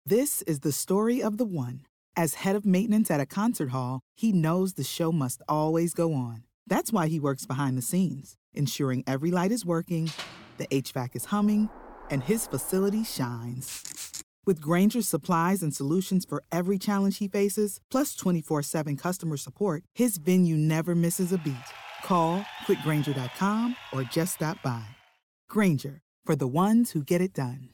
This is the story of the one. As head of maintenance at a concert hall, he knows the show must always go on. That's why he works behind the scenes, ensuring every light is working, the HVAC is humming, and his facility shines. With Grainger's supplies and solutions for every challenge he faces, plus 24/7 customer support, his venue never misses a beat. Call quickgrainger.com or just stop by. Grainger, for the ones who get it done.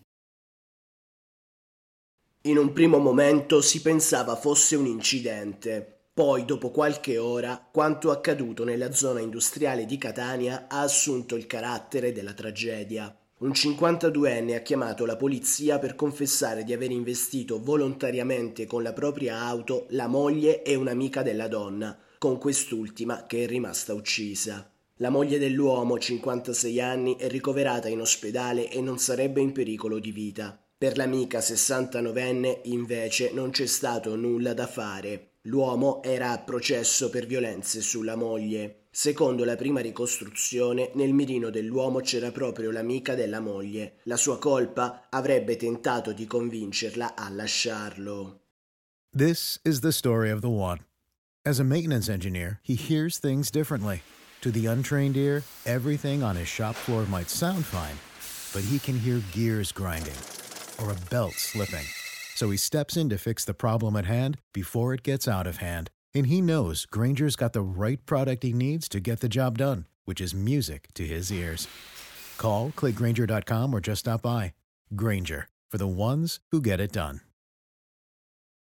In un primo momento si pensava fosse un incidente. Poi, dopo qualche ora, quanto accaduto nella zona industriale di Catania ha assunto il carattere della tragedia. Un 52enne ha chiamato la polizia per confessare di aver investito volontariamente con la propria auto la moglie e un'amica della donna, con quest'ultima che è rimasta uccisa. La moglie dell'uomo, 56 anni, è ricoverata in ospedale e non sarebbe in pericolo di vita. Per l'amica 69enne, invece, non c'è stato nulla da fare. L'uomo era a processo per violenze sulla moglie. Secondo la prima ricostruzione, nel mirino dell'uomo c'era proprio l'amica della moglie. La sua colpa? Avrebbe tentato di convincerla a lasciarlo. This is the story of the one. As a maintenance engineer, he hears things differently. To the untrained ear, everything on his shop floor might sound fine, but he can hear gears grinding or a belt slipping. So he steps in to fix the problem at hand before it gets out of hand. And he knows Grainger's got the right product he needs to get the job done, which is music to his ears. Call, click Grainger.com or just stop by. Grainger, for the ones who get it done.